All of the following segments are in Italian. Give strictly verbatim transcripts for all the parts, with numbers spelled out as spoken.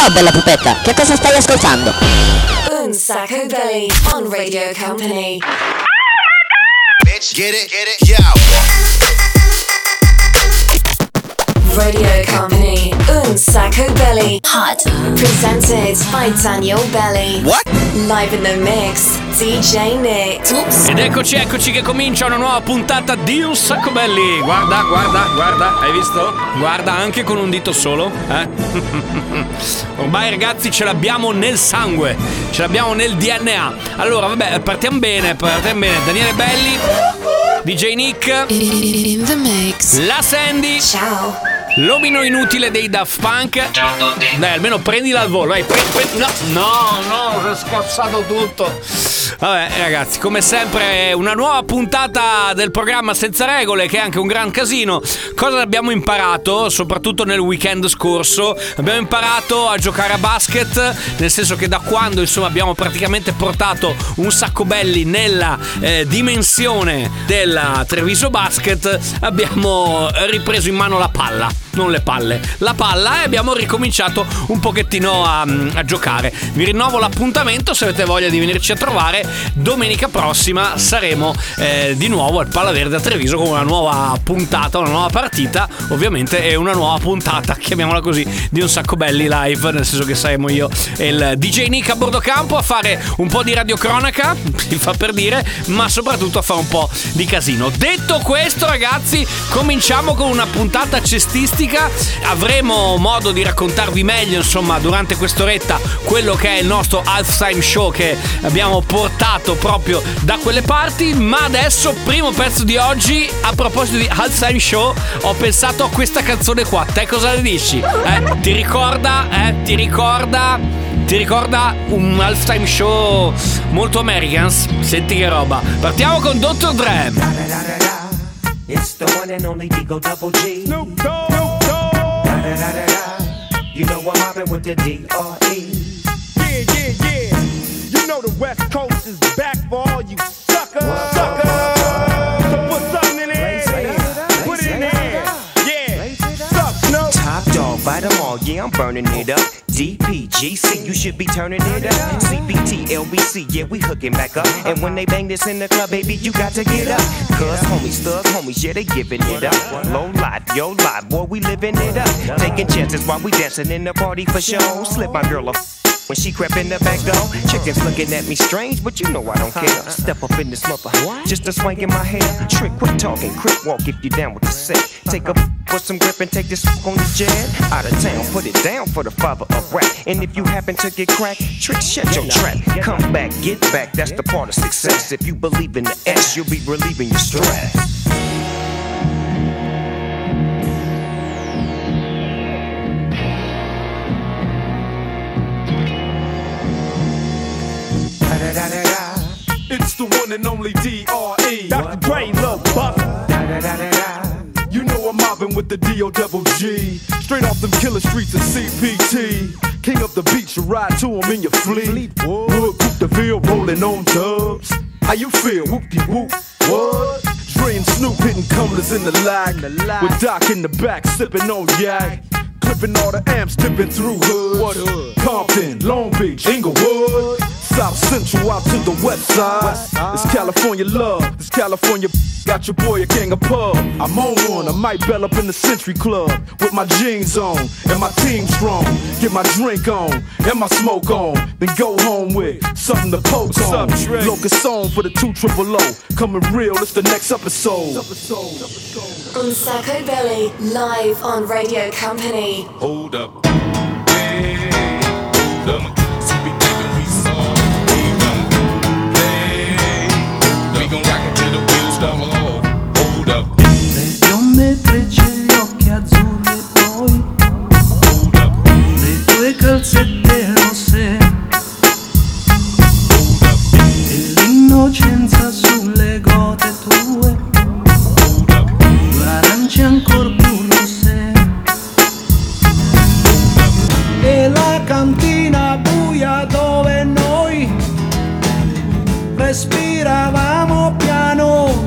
Ciao bella pupetta, che cosa stai ascoltando? Un Sacco Belly on Radio Company. Bitch, get it, get it, yo. Radio Company, Un Sacco Belly. Hot. Presented by Daniel Belly. What? Live in the mix, D J Nick. Oops. Ed eccoci, eccoci che comincia una nuova puntata di Un Sacco Belli. Guarda, guarda, guarda, hai visto? Guarda, anche con un dito solo, eh? Ormai ragazzi ce l'abbiamo nel sangue, ce l'abbiamo nel D N A. Allora, vabbè, partiamo bene, partiamo bene. Daniele Belli, D J Nick, In the mix. la Sandy. Ciao. L'omino inutile dei Daft Punk. Ciao a tutti. Dai, almeno prendila al volo. Dai, pre- pre- no, no, no, si è scassato tutto. Vabbè, ragazzi, come sempre, una nuova puntata del programma Senza Regole, che è anche un gran casino. Cosa abbiamo imparato, soprattutto nel weekend scorso? Abbiamo imparato a giocare a basket, nel senso che da quando, insomma, abbiamo praticamente portato Un Sacco Belli nella eh, dimensione della Treviso Basket, abbiamo ripreso in mano la palla. Non le palle, la palla, e abbiamo ricominciato un pochettino a, a giocare. Vi rinnovo l'appuntamento, se avete voglia di venirci a trovare. Domenica prossima saremo eh, di nuovo al Palla Verde a Treviso con una nuova puntata, una nuova partita, ovviamente, e una nuova puntata, chiamiamola così, di Un Sacco Belli live, nel senso che saremo io e il D J Nick a bordo campo a fare un po' di radiocronaca, si fa per dire, ma soprattutto a fare un po' di casino. Detto questo, ragazzi, cominciamo con una puntata cestistica. Avremo modo di raccontarvi meglio, insomma, durante quest'oretta quello che è il nostro halftime show che abbiamo portato proprio da quelle parti. Ma adesso, primo pezzo di oggi, a proposito di halftime show, ho pensato a questa canzone qua. Te cosa ne dici? Eh? Ti ricorda? Eh? Ti ricorda? Ti ricorda un halftime show molto Americans? Senti che roba. Partiamo con doctor Dre. It's the one and only Digo Double G. Snoop Dogg. Da da da da da. You know I'm mobbing with the D R E. Yeah, yeah, yeah. You know the West Coast is back for all you suckers. Suckers. So put something in there. Put it in there. Yeah. Suck, Snoop. Top dog, bite them all. Yeah, I'm burning it up. D P G C, you should be turning it up. C B T, L B C, yeah, we hooking back up. And when they bang this in the club, baby, you got to get up. Cause homies, thug homies, yeah, they giving it up. Low life, yo life, boy, we living it up. Taking chances while we dancing in the party for show. Slip my girl a when she crept in the back door. Chickens looking at me strange, but you know I don't care. Step up in this mother, just a swank in my hair. Trick, quit talking, quick walk if you down with the set. Take a put some grip and take this on the jet. Out of town, put it down for the father of rap. And if you happen to get cracked, trick, shut your trap. Come back, get back, that's the part of success. If you believe in the S, you'll be relieving your stress. It's the one and only D R E. Doctor Dre, Lil Buff. You know I'm mobbing with the D O Double G. Straight off them killer streets of C P T. King up the beach, you ride to him in your fleet. Wood, Coupe de Ville, rolling on dubs. How you feel? Whoop-de-whoop. What? Dre and Snoop hitting cumblers in the lag. With Doc in the back, sipping on yak. Clipping all the amps, dipping through hoods. What hood? Compton, Long Beach, Inglewood. South Central out to the west side. It's California love, it's California. Got your boy a king of pub. I'm on one, I might bell up in the Century Club with my jeans on and my team strong. Get my drink on and my smoke on, then go home with something to poke on. Locust on for the two triple O. Coming real, it's the next episode. Un Sacco Belly, live on Radio Company. Hold up. Hey, hold up. See, we thinking we saw. We gon' play. We gon' rock it till the wheels fall off. Hold up. Le bionde trecce, gli occhi azzurri e poi Hold up. le tue calzette rosse Hold up. e l'innocenza sulle gote tue, Hold up. due arance ancor più rosse e la cantina buia dove noi respiravamo piano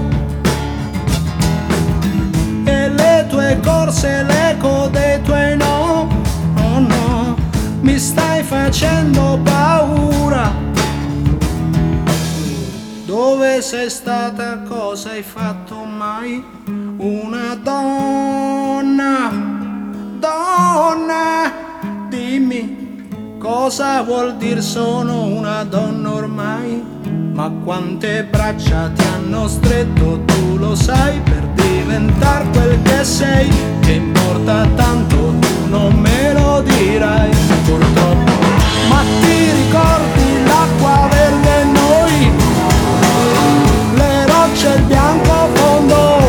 e le tue corse, l'eco dei tuoi no, oh no, mi sta facendo paura. Dove sei stata, cosa hai fatto mai? Una donna, donna, dimmi cosa vuol dire sono una donna ormai. Ma quante braccia ti hanno stretto, tu lo sai, per diventare quel che sei. Che importa tanto, tu non me lo dirai purtroppo. Ma ti ricordi l'acqua verde e noi, le rocce e il bianco fondo?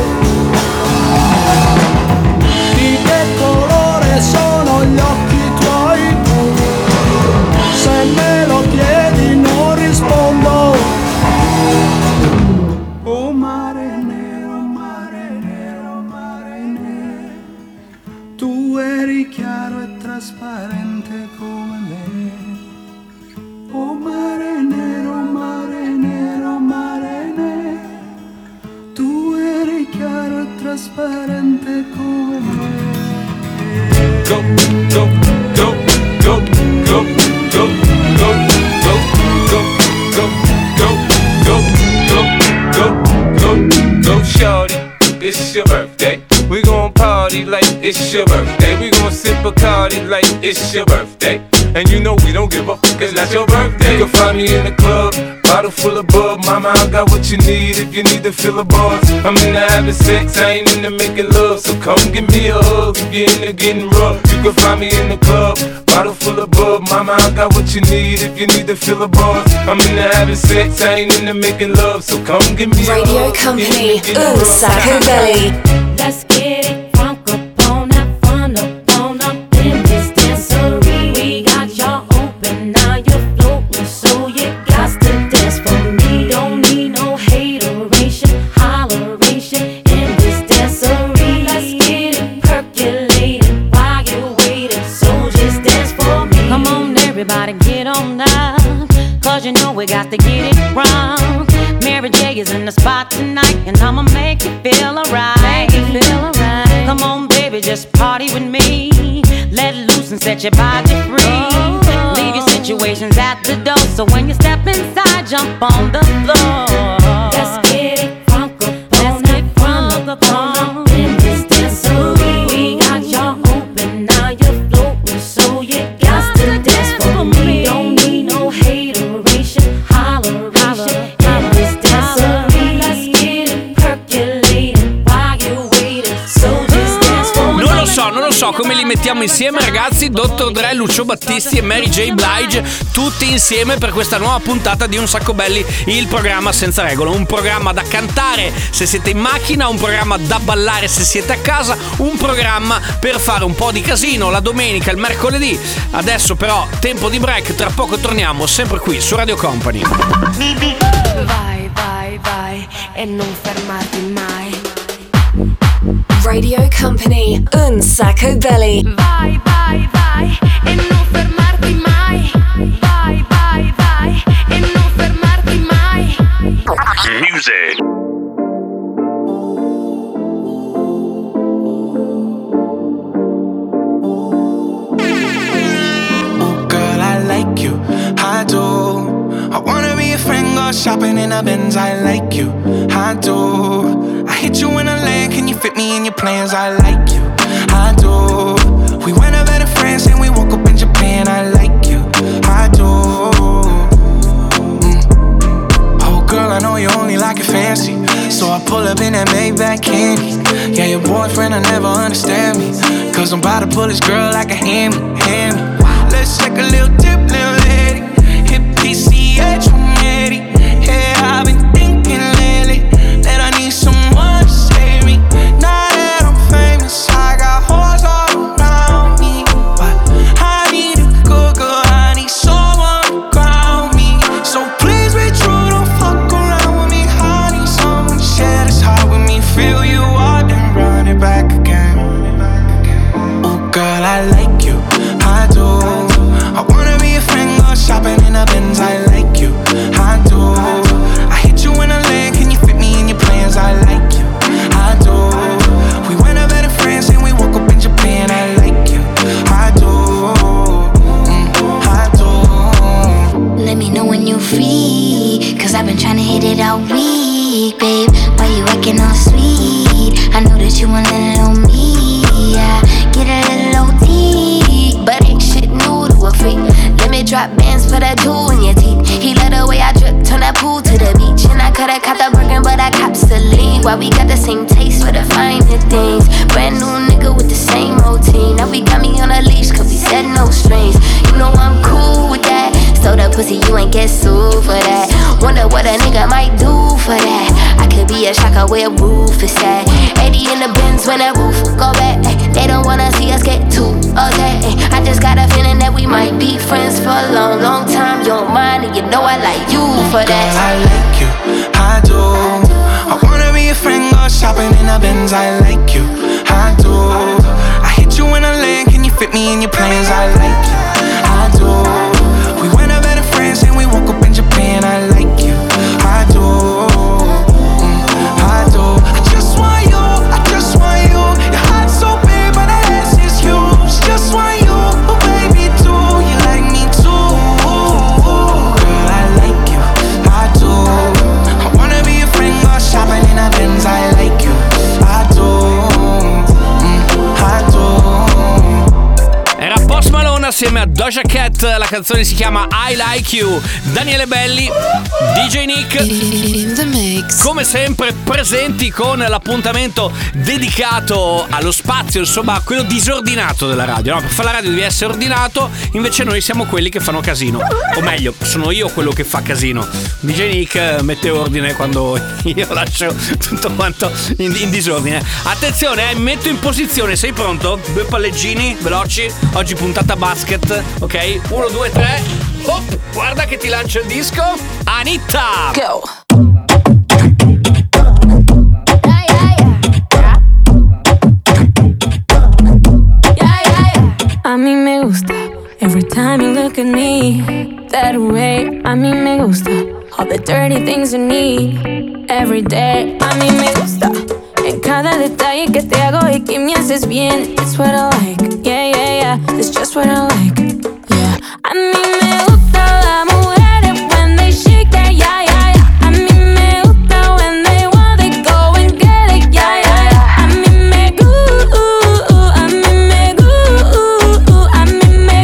Di che colore sono gli occhi tuoi? Se me lo chiedi non rispondo. Oh mare nero, mare nero, mare nero, tu eri chiaro e trasparente come me. Oh mare nero, mare nero, mare nero, tu eri chiaro e trasparente come me. Go, go, go, go, go, go, go, go, go, go, go, go, go, go, go, go, shorty, it's your birthday. We gon' party like it's your birthday. We gon' sip a Bacardi like it's your birthday. And you know we don't give a fuck, it's not your birthday. You can find me in the club, bottle full of bub. Mama, I got what you need if you need to fill the bars. I'm into having sex, I ain't into making love. So come give me a hug if you're into getting rough. You can find me in the club, bottle full of bub. Mama, I got what you need if you need to fill the bars. I'm into having sex, I ain't into making love. So come give me a hug. Radio Company, Un Sacco Belly. Let's get it drunk up on that fun up on up in this dancery. We got y'all open, now you're floating, so you got to dance for me. Don't need no hateration, holleration in this dancery. Let's get it percolating while you're waiting, so just dance for me. Come on everybody, get on up, cause you know we got to get it wrong. Mary J is in the spot tonight, and I'ma make you feel alright. Make you feel alright. Come on, baby, just party with me. Let loose and set your body free. Oh. Leave your situations at the door, so when you step inside, jump on the floor. Let's get it crunk up, let's get crunk up on in this dancery. We got y'all open, now you're floating, so you got to dance for me. Don't need no hateration, holleration. Non lo so come li mettiamo insieme, ragazzi. dottor Dre, Lucio Battisti e Mary J. Blige, tutti insieme per questa nuova puntata di Un Sacco Belli, il programma senza regole. Un programma da cantare se siete in macchina, un programma da ballare se siete a casa, un programma per fare un po' di casino la domenica, il mercoledì. Adesso però tempo di break, tra poco torniamo sempre qui su Radio Company. Vai, vai, vai e non fermarti mai. Radio Company, Un Sacco Belly. Vai, vai, vai e non fermarti mai. Vai, vai, vai e non fermarti mai. Music. Oh girl, I like you, I do. I wanna be a friend, go shopping in a Benz. I like you, I do. I hit you in a land, can you fit me in your plans? I like you, I do. We went over to France and we woke up in Japan. I like you, I do. Mm. Oh girl, I know you only like it fancy, so I pull up in that Maybach candy. Yeah, your boyfriend will never understand me, cause I'm about to pull this girl like a hammy, hammy. Let's take a little dip, little lady. Hit P C H one eighty. Yeah, I've been thinking lately that I need someone to save me. Now that I'm famous, I got hoes all around me, but I need a good girl, I need someone to ground me. So please be true, don't fuck around with me. I need someone to share this heart with me. Fill you up and run it back again. Oh girl, I like you, I do. I wanna be a friend, you want a little me, yeah. Get a little O T, but ain't shit new to a freak. Let me drop bands, put a jewel in your teeth. He love the way I drip, turn that pool to the beach. And I coulda caught the Birkin, but I cops the lead. Why we got the same taste for the finer things. Brand new nigga with the same routine. Now we got me on a leash, cause we said no strings. You know I'm cool with that. So the pussy, you ain't get sued for that. Wonder what a nigga might do for that. I could be a shocker where roof is at. eighty in the Benz when the roof go back. They don't wanna see us get too upset. I just got a feeling that we might be friends for a long, long time. You don't mind, and you know I like you for that. Girl, I like you, I do. I wanna be a friend, go shopping in the Benz. I like you, I do. I hit you in a lane, can you fit me in your plans? I like you, I do. We went up better friends and we woke up in Japan. I like you, I do, mm, I do. I just want you, I just want you. Your heart's so big, but the ass is huge. Just want you, oh baby, too. You like me too, girl. I like you, I do. I wanna be a friend, go shopping in a Benz. I like you, I do, mm, I do. Era Post Malone assieme a Doja Cat, la canzone si chiama I Like You. Daniele Belli, D J Nick, In the mix. come sempre presenti con l'appuntamento dedicato allo spazio, insomma quello disordinato della radio, no? Per fare la radio devi essere ordinato, invece noi siamo quelli che fanno casino, o meglio sono io quello che fa casino. D J Nick mette ordine quando io lascio tutto quanto in, in disordine. Attenzione, eh, mi metto in posizione, sei pronto? Due palleggini veloci, oggi puntata basket, ok? Uno, due, tre. Hop, guarda che ti lancio il disco. Anitta! Go. A mí me gusta every time you look at me that way. A mí me gusta all the dirty things you need every day. A mí me gusta en cada detalle que te hago y que me haces bien. It's what I like, yeah, yeah, yeah. It's just what I like, yeah. A mí me gusta la mujeres when they shake their yeah, yeah, yeah. A mí me gusta when they want they go and get it, yeah, yeah, yeah. A mí me gusta, a mí me gusta, a mí me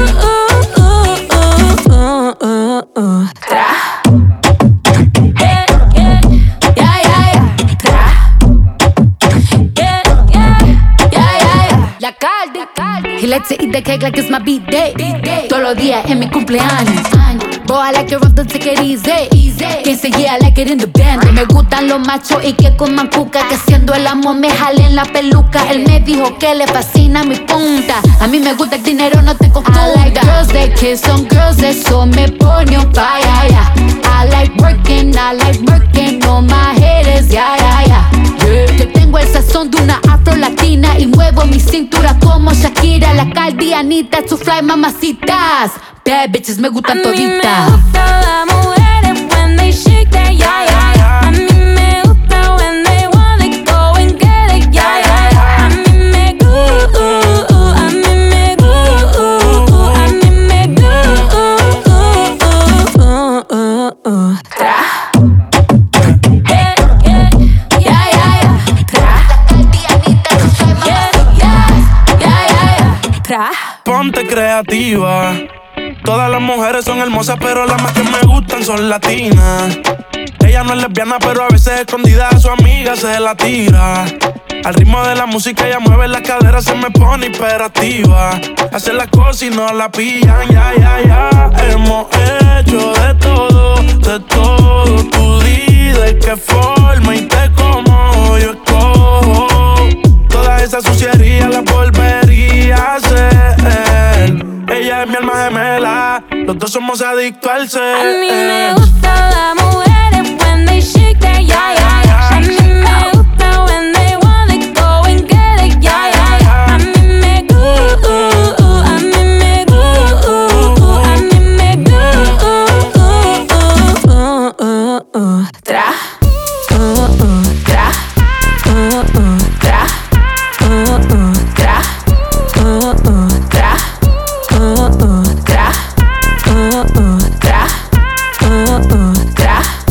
gusta. Tra. Yeah, yeah, yeah, yeah, yeah. Tra. Yeah, yeah, yeah, yeah, yeah. La Caldi, Caldi. He likes to eat the cake like it's my B-day. Todos los días en mi cumpleaños. Boy, I like it rough, don't take it easy. Quien se yeah, I like it in the band. Me gustan los machos y que coman cuca. Que haciendo el amor me jalen la peluca. Él me dijo que le fascina mi punta. A mí me gusta el dinero, no te confunda. I like girls that kiss on girls, eso me pone on fire, yeah. I like working, I like working on my haters, yeah, yeah, yeah. Yeah. Yo tengo el sazón de una afro latina y muevo mi cintura como Shakira. La Caldi, Anita, to fly mamacitas. Bad bitches me gustan toditas. A mí me gusta la mujeres when they shake their yeah, yeah, yeah. A mí me gusta when they want they go and get it, yeah, yeah, yeah. A mí me gusta, a mí me gusta, a mí me gusta. Tra. Yeah, yeah, yeah, yeah, yeah. Tra. Yeah, yeah, yeah, yeah, yeah. Tra. Ponte creativa. Todas las mujeres son hermosas, pero las más que me gustan son latinas. Ella no es lesbiana, pero a veces escondida a su amiga se la tira. Al ritmo de la música ella mueve las caderas, se me pone hiperactiva. Hace las cosas y no la pillan, ya, ya, ya. Hemos hecho de todo, de todo. Tú di de qué forma y te como yo escojo. Toda esa suciería la volvería a hacer. Ella es mi alma gemela, los dos somos adictos al ser. A mí me gusta la mujeres when they shake their yeah, yeah, yeah. A mí me gusta when they want they go and get it, yeah, yeah, yeah. A mí me gusta, a mí me gusta, a mí me gusta. Tra. Tra. Tra. Tra. Tra. Tra, tra, tra,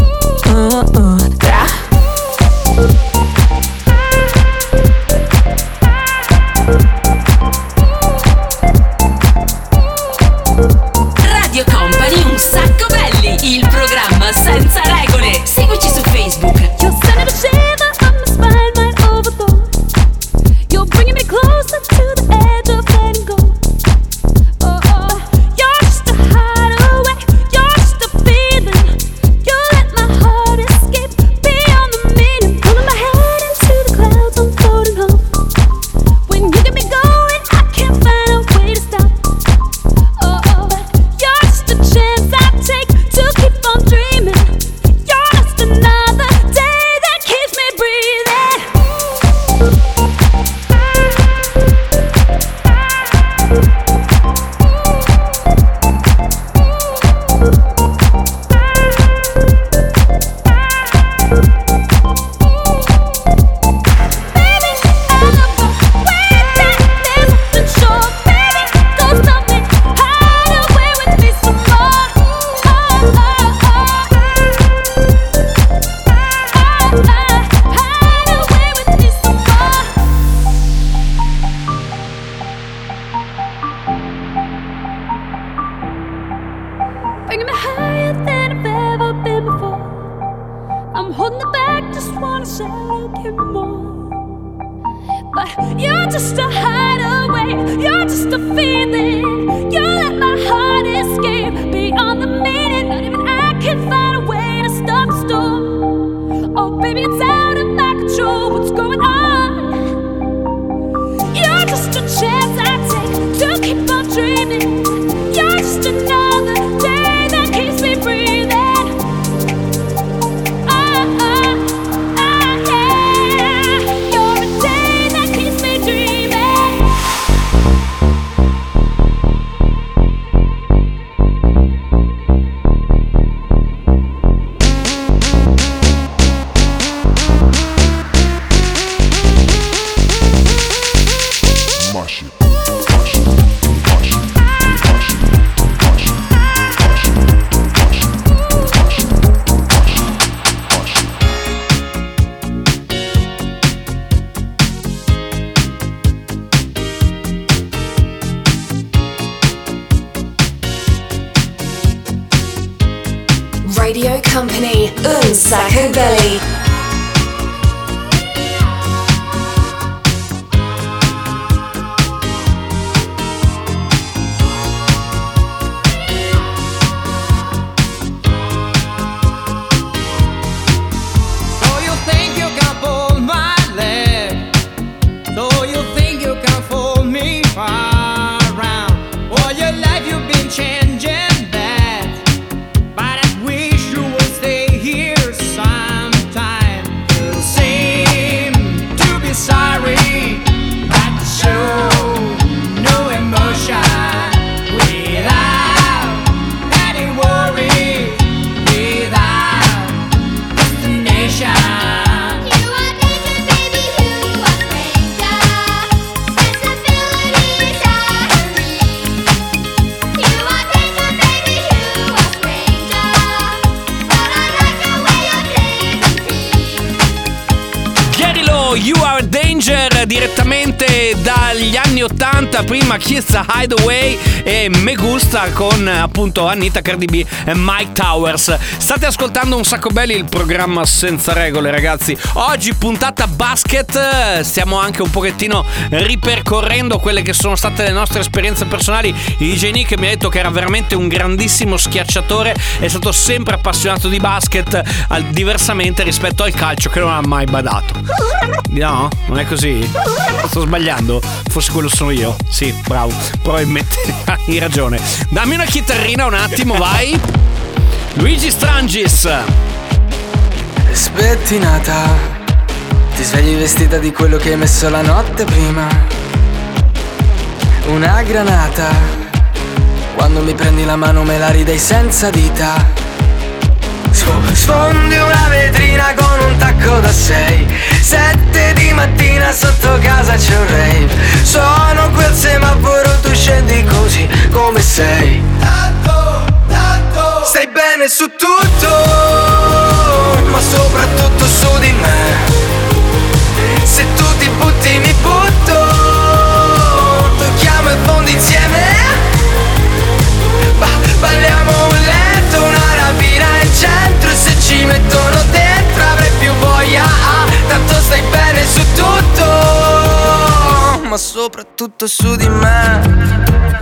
but you're just a hideaway. You're just a feeling. You let my heart escape beyond the meaning. Not even I can find a way to stop the storm. Oh, baby, it's out of my control. What's going on? You're just a chance I take to keep on dreaming. You're just another day that keeps me breathing. Oh, oh, oh, yeah. You're a day that keeps me dreaming. Mush it. Radio Company, Un Sacco Belly. So you think you can pull my leg? So you think you can fool me around? All your life you've been changing that, but I wish you would stay here sometime. You seem to be sorry, but you show no emotion without any worry, without destination. You are danger, baby, you are stranger. Sensibilities are relief. You are danger, baby, you are stranger. But I like the way you're dancing. Gary Lowe, You Are a Danger, direttamente dagli anni ottanta, prima Kiss Hideaway e Me Gusta con appunto Anita, Cardi B e Mike Towers. State ascoltando Un Sacco Belli, il programma senza regole, ragazzi. Oggi puntata basket, stiamo anche un pochettino ripercorrendo quelle che sono state le nostre esperienze personali. D J Nick mi ha detto che era veramente un grandissimo schiacciatore, è stato sempre appassionato di basket, al- diversamente rispetto al calcio che non ha mai badato. No? Non è così? Sto sbagliando? Forse quello sono io. Sì, bravo. Probabilmente hai ragione. Dammi una chitarrina un attimo, vai. Luigi Strangis. Spettinata, ti svegli vestita di quello che hai messo la notte prima. Una granata, quando mi prendi la mano me la ridai senza dita. Sf- Sfondi una vetrina con un tacco da sei. Sette di mattina sotto casa c'è un rave. Sono quel semaforo, tu scendi così come sei. Tanto, tanto stai bene su tutto, ma soprattutto su di me. Se tu ti butti mi butto, tocchiamo il fondo insieme. Ba- balliamo un letto, una rapina in centro. E se ci mettono dentro avrai più voglia, ah, tanto stai bene su tutto, ma soprattutto su di me.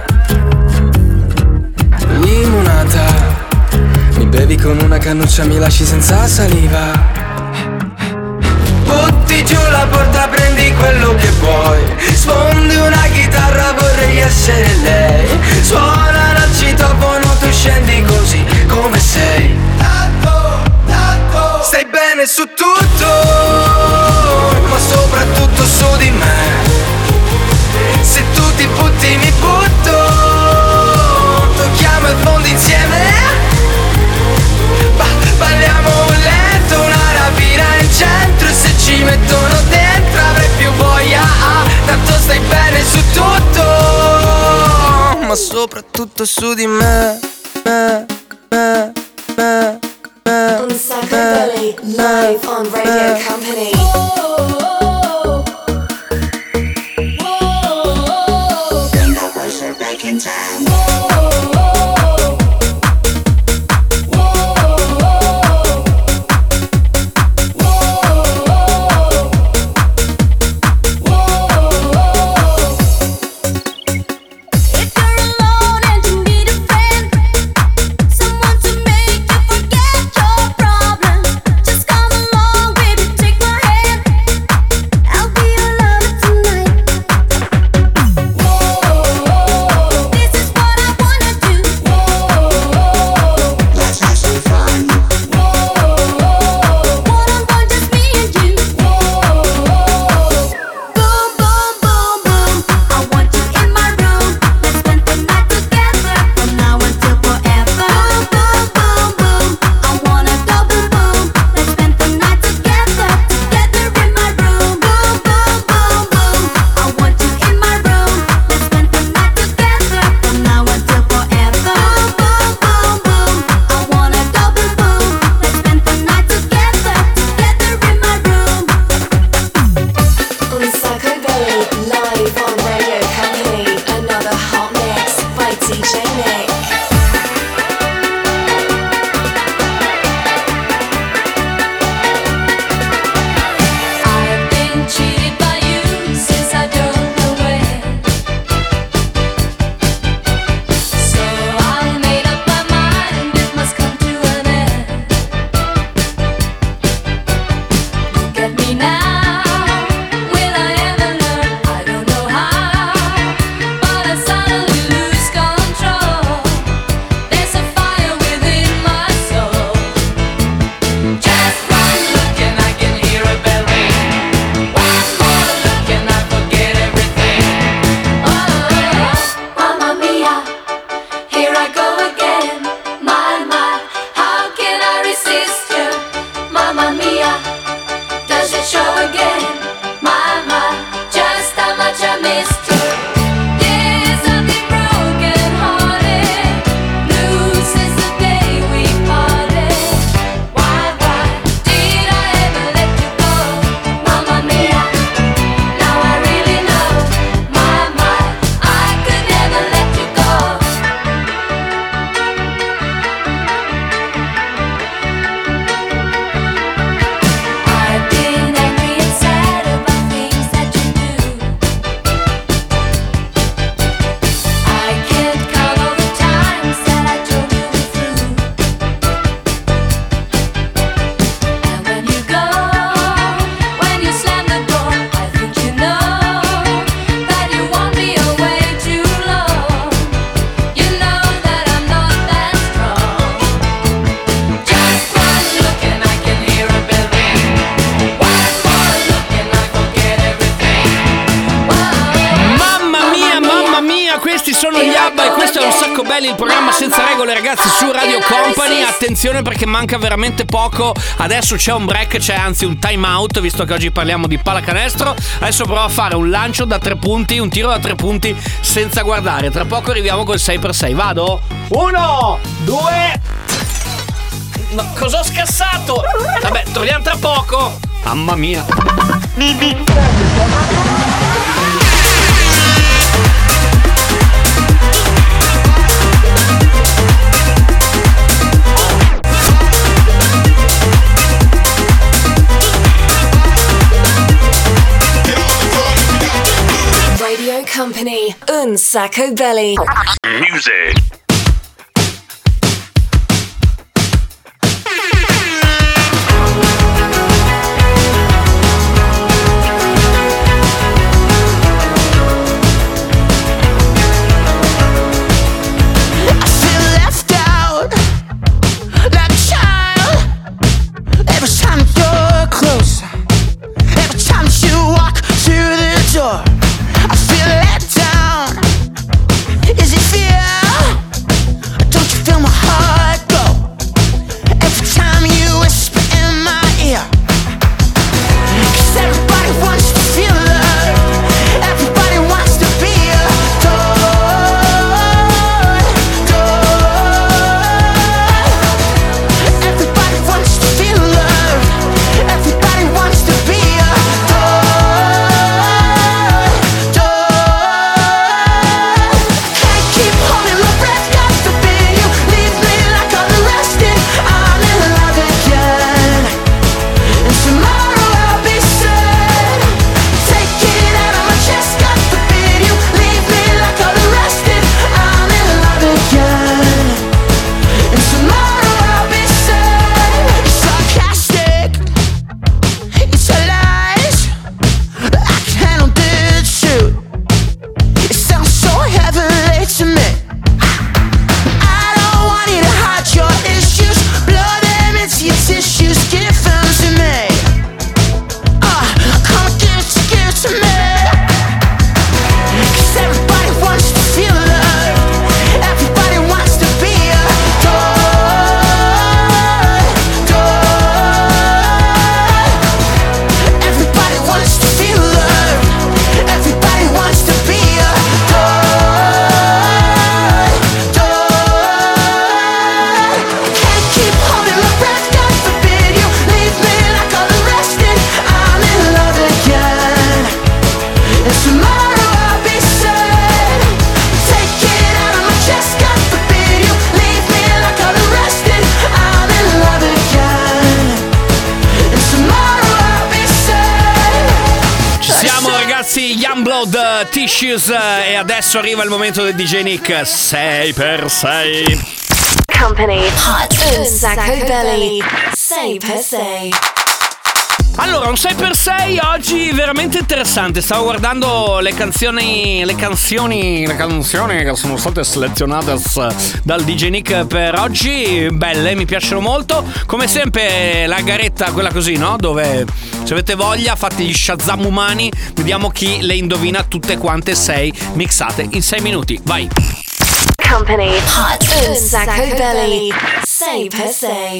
Limonata, mi bevi con una cannuccia, mi lasci senza saliva. Butti giù la porta, prendi quello che vuoi. Sfondi una chitarra, vorrei essere lei. Suona il citofono, tu scendi così come sei. Tanto, tanto stai bene su tutto, ma soprattutto su di me. Se tu ti butti mi butto, tocchiamo il fondo insieme. Ba- balliamo un letto, una rapina in centro. E se ci mettono dentro avrai più voglia, ah, tanto stai bene su tutto, ma soprattutto su di me, me, me, me, me. Un Sacco Belly, live on Radio Company. Whoa. Club e questo è Un Sacco Belli, il programma senza regole, ragazzi, su Radio Company. Attenzione perché manca veramente poco. Adesso c'è un break, c'è anzi un time out, visto che oggi parliamo di pallacanestro. Adesso provo a fare un lancio da tre punti, un tiro da tre punti senza guardare. Tra poco arriviamo col sei per sei. Vado? Uno, due. No, cosa ho scassato? Vabbè, torniamo tra poco. Mamma mia. Radio Company, Un Sacco Belly. Music. I feel let down. Is it fear? Don't you feel my heart go every time you whisper in my ear? 'Cause everybody wants to feel love. Everybody wants to be adored, adored. Everybody wants to feel love. Everybody wants to be adored. Youngblood, Tissues e adesso arriva il momento del D J Nick. sei per sei Company Hot Un Sacco Belly sei per sei. Allora, un sei per sei oggi veramente interessante. Stavo guardando le canzoni, le canzoni, le canzoni che sono state selezionate dal D J Nick per oggi. Belle, mi piacciono molto. Come sempre la garetta, quella così, no? Dove se avete voglia fate gli Shazam umani. Vediamo chi le indovina tutte quante sei mixate in sei minuti. Vai. Company Hot Un Sacco Belly sei per sei.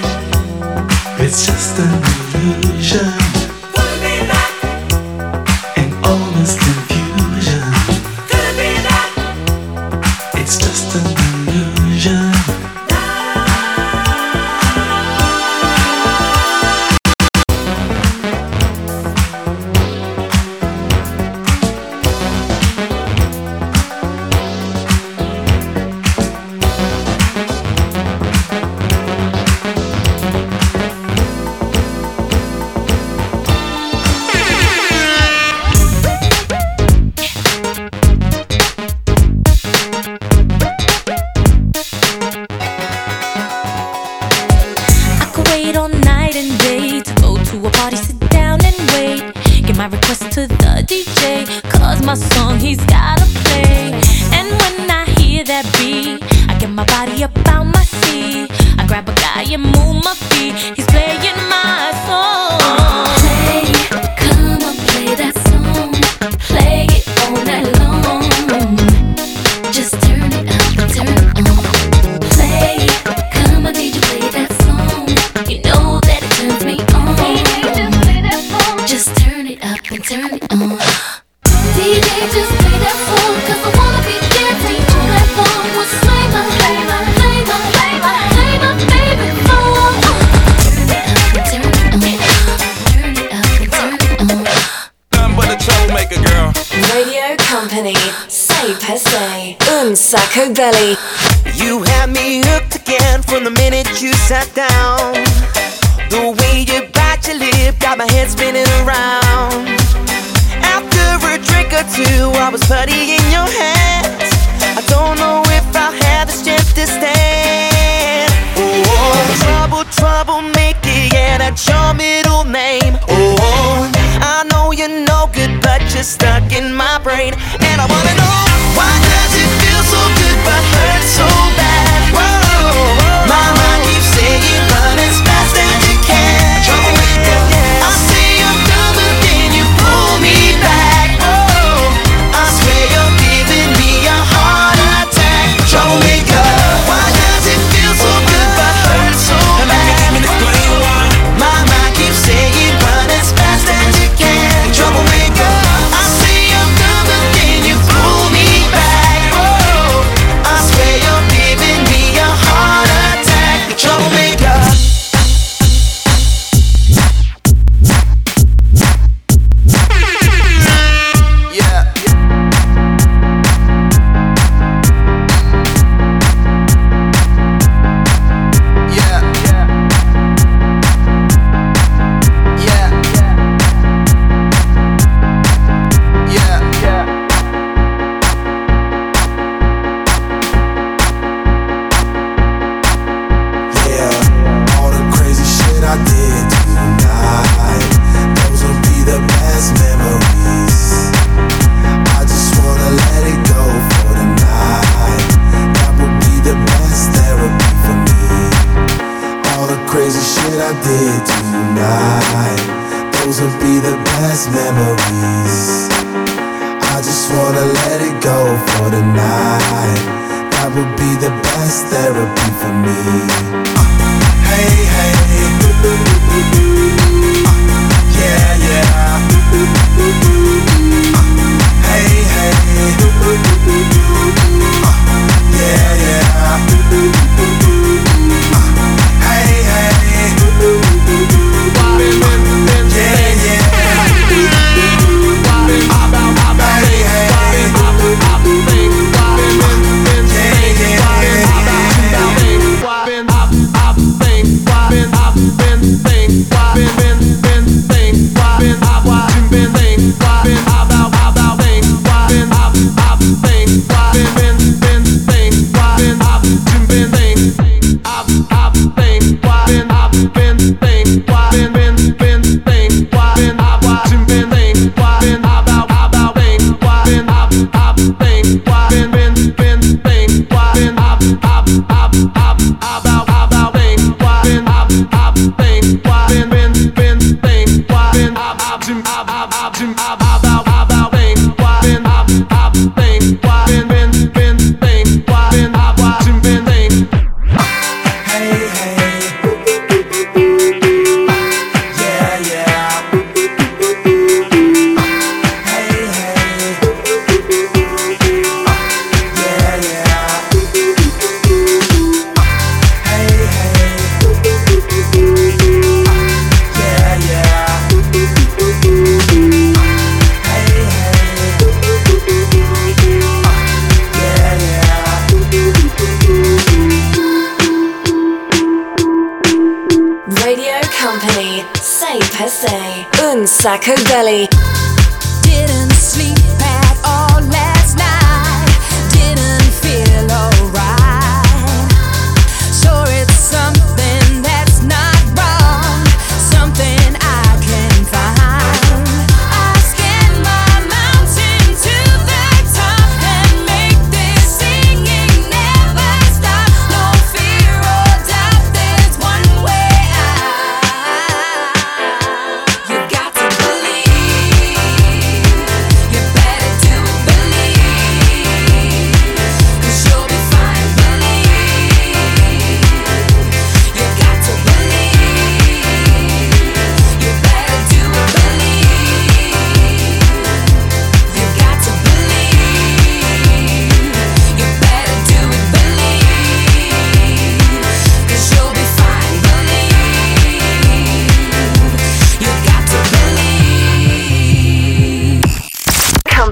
It's just an illusion. wait all night and day to go to a party, sit down and wait. Get my request to the D J, cause my song he's gotta play. And when I hear that beat, I get my body up out my seat. I grab a guy and move my feet. He's playing my song. Play, come on, play that song. Play it all night long. Just turn it up, turn it on. Play, come on, D J, play that song. You know that it turns me on. Just turn it up and turn it on. D J, just play that song, cause I wanna be dancing on that phone. What's play my, play my, play my, play my, play my favorite song. Turn it up and turn it on. Turn it up and turn it on. Nothing but a troublemaker, girl. Radio Company, say per se, Un Sacco Belly. You had me hooked again from the minute you sat down. The way you bite your lip got my head spinning around. After a drink or two, I was putty in your hands. I don't know if I'll have the strength to stand. Oh, trouble, troublemaker, yeah, that's your middle name. Oh, I know you're no good, but you're stuck in my brain. And I wanna know, why does it feel so good but hurt so bad? Whoa, my mind keeps saying run as fast as you can. Troublemaker, I say I'm done, but then you pull me back. Whoa, I swear you're giving me a heart attack. Troublemaker, why does it feel so good but hurt so bad? My mind keeps saying run as fast as you can. Troublemaker, I say I'm done, but then you pull me back. Whoa, I swear you're giving me a heart attack. Troublemaker. Yeah. Yeah. Yeah. Yeah. Yeah. Yeah, all the crazy shit I did tonight, those will be the best memories. I just wanna let it go for the night. That would be the best therapy for me. All the crazy shit I did tonight, those will be the best memories. I just wanna let it go for the night. That would be the best therapy for me. Hey, hey, uh, yeah, yeah. Uh, hey, hey, uh, yeah, yeah. Uh, hey, hey, yeah, yeah. Sacco Belly. Didn't sleep at all last night. Didn't feel alright. Sure, it's something that's not right.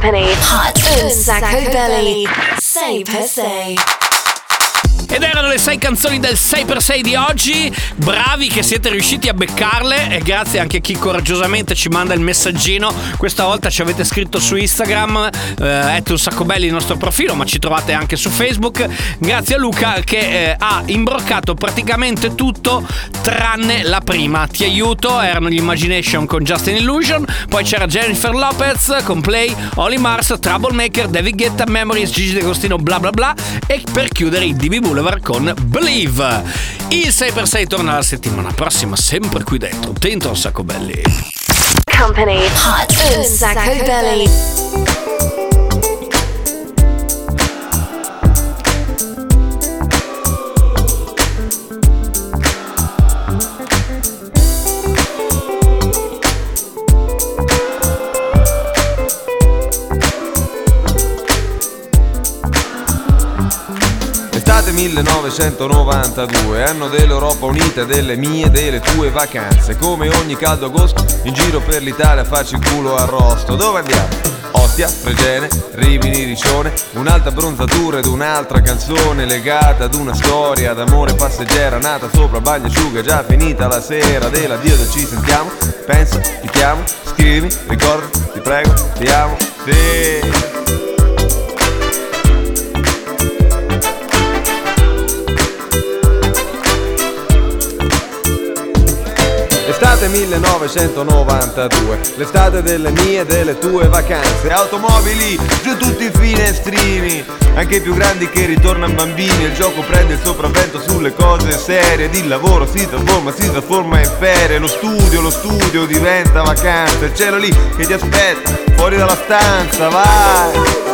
Company, Hot un sacco belli, sei per sei. Ed erano le sei canzoni del sei per sei di oggi. Bravi che siete riusciti a beccarle. E grazie anche a chi coraggiosamente ci manda il messaggino. Questa volta ci avete scritto su Instagram, eh, un sacco belli il nostro profilo, ma ci trovate anche su Facebook. Grazie a Luca che eh, ha imbroccato praticamente tutto tranne la prima. Ti aiuto, erano gli Imagination con Just an Illusion. Poi c'era Jennifer Lopez con Play, Oli Mars, Troublemaker, David Guetta, Memories, Gigi D'Agostino, bla bla bla. E per chiudere i D B Boulevard con Believe. Il sei per sei torna la settimana prossima, sempre qui dentro, dentro un sacco belli. Company, Hot un sacco belli. millenovecentonovantadue, anno dell'Europa unita, delle mie e delle tue vacanze. Come ogni caldo agosto, in giro per l'Italia faccio il culo arrosto. Dove andiamo? Ostia, Fregene, Rimini, Riccione. Un'altra bronzatura ed un'altra canzone legata ad una storia d'amore passeggera, nata sopra bagnasciuga, già finita la sera dell'addio del ci sentiamo. Pensa, ti chiamo, scrivimi, ricorda, ti prego, ti amo, sì. Estate millenovecentonovantadue, l'estate delle mie e delle tue vacanze. Automobili, giù tutti i finestrini, anche i più grandi che ritornano bambini. Il gioco prende il sopravvento sulle cose serie ed il lavoro si trasforma, si trasforma in ferie. Lo studio, lo studio diventa vacanza. Il cielo lì che ti aspetta, fuori dalla stanza, vai.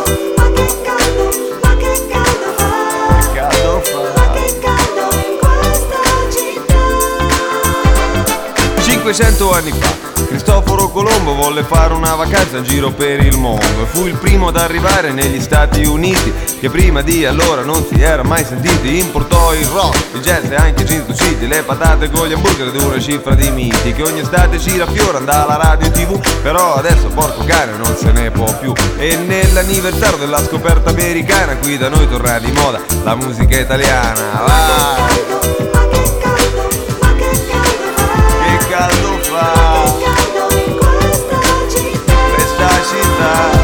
Che caldo fa. cinquecento anni fa Cristoforo Colombo volle fare una vacanza in giro per il mondo e fu il primo ad arrivare negli Stati Uniti, che prima di allora non si era mai sentiti. Importò il rock, il jazz e anche Cinto City, le patate con gli hamburger ed una cifra di miti che ogni estate ci raffiora dalla radio e tv. Però adesso porco cane non se ne può più, e nell'anniversario della scoperta americana qui da noi torna di moda la musica italiana. Vai! Caldo fa questa città.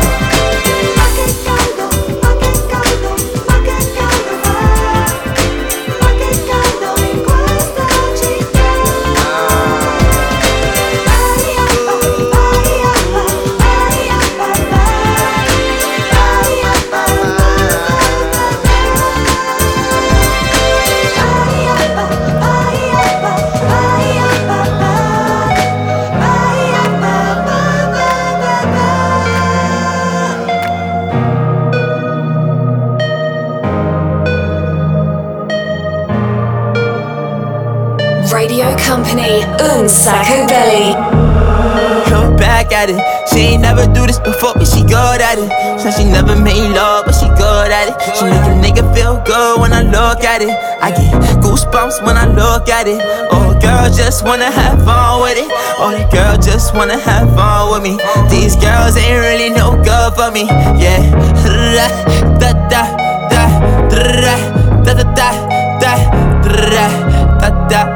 Radio Company, un sacco belli. Come back at it. She ain't never do this before, but she good at it. Said she never made love, but she good at it. She make a nigga feel good when I look at it. I get goosebumps when I look at it. Oh, girl just wanna have fun with it. Oh, the girl just wanna have fun with me. These girls ain't really no good for me. Yeah. Da da da da da da da da da da da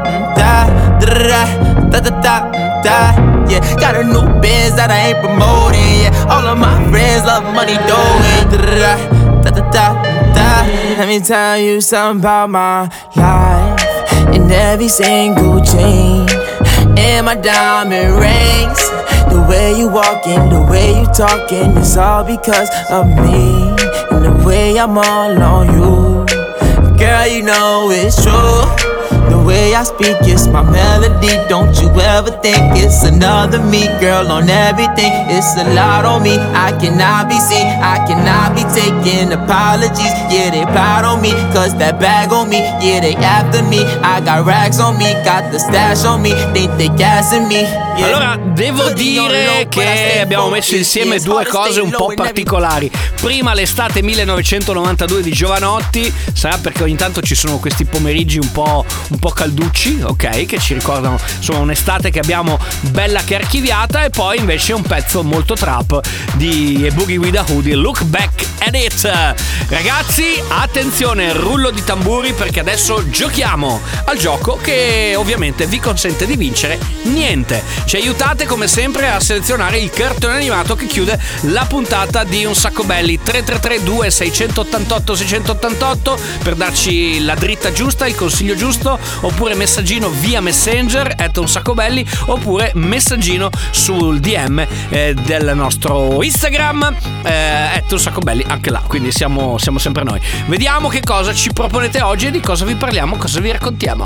da da da da. Yeah, got a new biz that I ain't promoting. Yeah, all of my friends love money doing. Da da da da da. Let me tell you something about my life. In every single chain, in my diamond rings, the way you walking, the way you talking, it's all because of me. And the way I'm all on you, girl, you know it's true. The way I speak, it's my melody. Don't you ever think it's another me, girl, on everything. It's a lot on me. I cannot be seen, I cannot be taking apologies. Yeah, they proud on me, cause that bag on me. Yeah, they after me. I got racks on me, got the stash on me. Think they gassing me. Yeah. Allora, devo dire che abbiamo messo insieme due cose un po' particolari. Prima l'estate millenovecentonovantadue di Giovanotti, sarà perché ogni tanto ci sono questi pomeriggi un po', un po' calducci, ok, che ci ricordano insomma un'estate che abbiamo bella che archiviata, e poi invece un pezzo molto trap di Boogie with a Hoodie, Look Back at It. Ragazzi, attenzione, rullo di tamburi, perché adesso giochiamo al gioco che ovviamente vi consente di vincere niente. Ci aiutate come sempre a selezionare il cartone animato che chiude la puntata di Un Sacco Belli. Tre tre tre due sei otto otto sei otto otto per darci la dritta giusta, il consiglio giusto, oppure messaggino via Messenger at Un Sacco Belli, oppure messaggino sul D M eh, del nostro Instagram eh, at Un Sacco Belli, anche là, quindi siamo, siamo sempre noi. Vediamo che cosa ci proponete oggi e di cosa vi parliamo, cosa vi raccontiamo.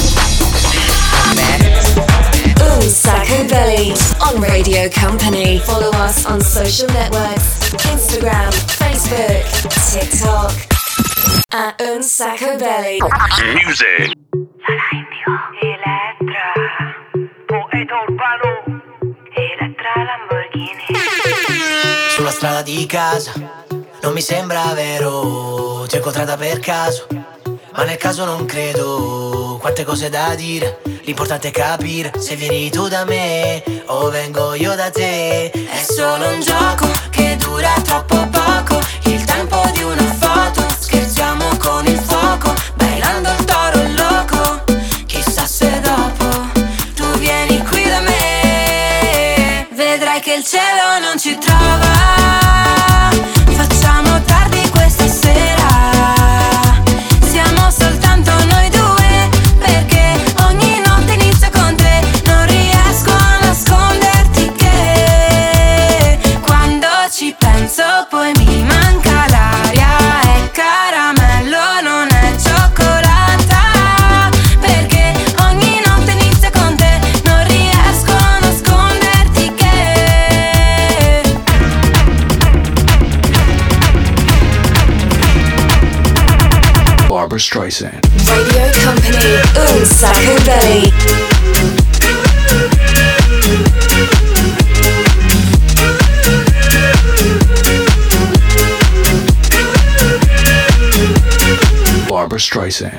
Un Sacco Belly on Radio Company. Follow us on social networks, Instagram, Facebook, TikTok at Un Sacco Belly. Music. Elettra, poeta urbano, Elettra Lamborghini. Sulla strada di casa, non mi sembra vero, ti ho incontrata per caso, ma nel caso non credo, quante cose da dire, l'importante è capire se vieni tu da me o vengo io da te. È solo un gioco che dura troppo poco, il tempo di una foto, scherziamo con il fuoco, bailando il toro loco, chissà se dopo tu vieni qui da me, vedrai che il cielo non ci trova, facciamo tardi questa sera, siamo soltanto noi due, perché ogni notte inizia con te, non riesco a nasconderti che quando ci penso poi mi manca l'aria, è caramello, non è cioccolata, perché ogni notte inizia con te, non riesco a nasconderti che Barbra Streisand. Radio Company, Un Sacco Belly. Barbra Streisand.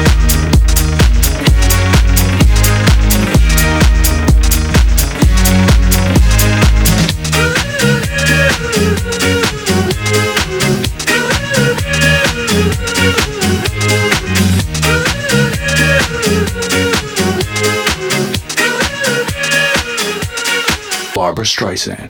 Barbra Streisand.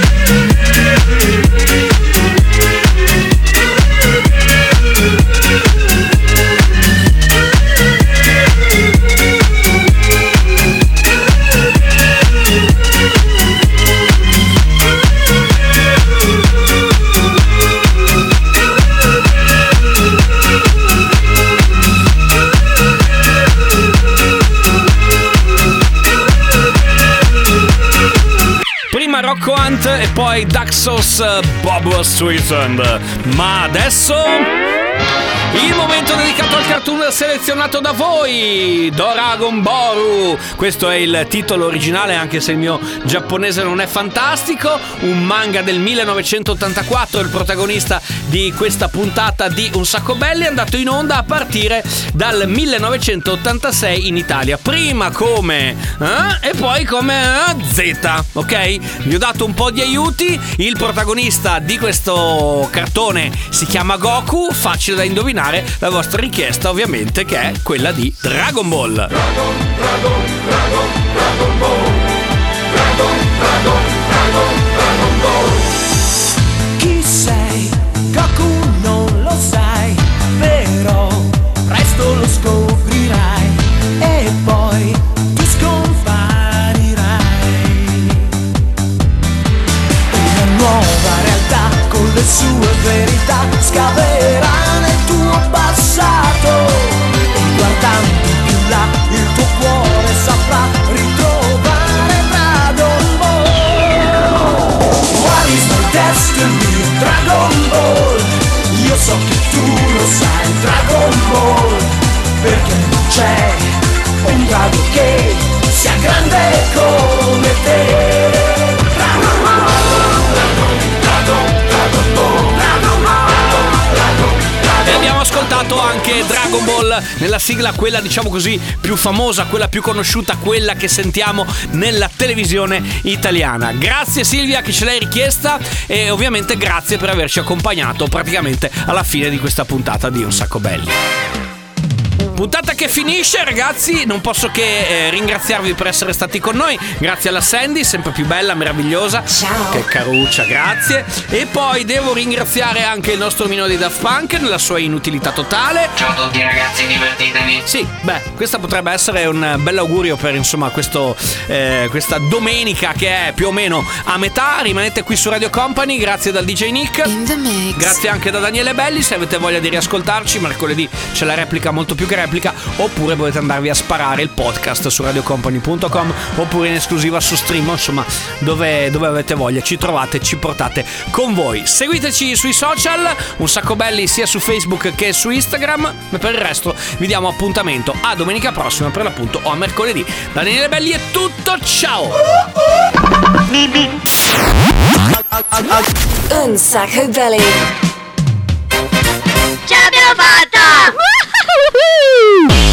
Rocco Hunt e poi Daxos, Barbra Streisand. Ma adesso il momento dedicato al cartoon selezionato da voi, Doragon Boru. Questo è il titolo originale, anche se il mio giapponese non è fantastico. Un manga del millenovecentottantaquattro, il protagonista di questa puntata di Un Sacco Belli, è andato in onda a partire dal millenovecentottantasei in Italia, prima come eh, e poi come eh, Z, ok? Vi ho dato un po' di aiuti. Il protagonista di questo cartone si chiama Goku, facile da indovinare. La vostra richiesta ovviamente, che è quella di Dragon Ball. Dragon, Dragon, Dragon, Dragon Ball. Dragon, Dragon, Dragon, Dragon Ball. Chi sei? Goku non lo sai, però presto lo scoprirai e poi ti scomparirai. Una nuova realtà con le sue verità scaverà nel tuo passato e guardando più là il tuo cuore saprà ritrovare Dragon Ball. What is my destiny? Dragon Ball. Io so che tu lo sai, Dragon Ball, perché non c'è un drago che sia grande come te. Dragon Ball, Dragon, Dragon, Dragon Ball, Dragon Ball, Dragon, Dragon. E abbiamo ascoltato anche Dragon Dragon Ball, nella sigla quella diciamo così più famosa, quella più conosciuta, quella che sentiamo nella televisione italiana. Grazie Silvia che ce l'hai richiesta e ovviamente grazie per averci accompagnato praticamente alla fine di questa puntata di Un Sacco Belli. Puntata che finisce, ragazzi, non posso che eh, ringraziarvi per essere stati con noi. Grazie alla Sandy, sempre più bella, meravigliosa. Ciao. Che caruccia, grazie. E poi devo ringraziare anche il nostro omino di Daft Punk nella sua inutilità totale. Ciao a tutti ragazzi, divertitevi. Sì, beh, questa potrebbe essere un bell'augurio per insomma questo eh, questa domenica che è più o meno a metà. Rimanete qui su Radio Company, grazie dal D J Nick. In the mix. Grazie anche da Daniele Belli. Se avete voglia di riascoltarci, mercoledì c'è la replica molto più che replica, oppure potete andarvi a sparare il podcast su radiocompany punto com oppure in esclusiva su Stream, insomma dove, dove avete voglia ci trovate, ci portate con voi. Seguiteci sui social, Un Sacco Belli sia su Facebook che su Instagram, e per il resto vi diamo appuntamento a domenica prossima per l'appunto o a mercoledì. Da Daniele Belli è tutto, ciao. Un Sacco Belly. Ce l'abbiamo fatta!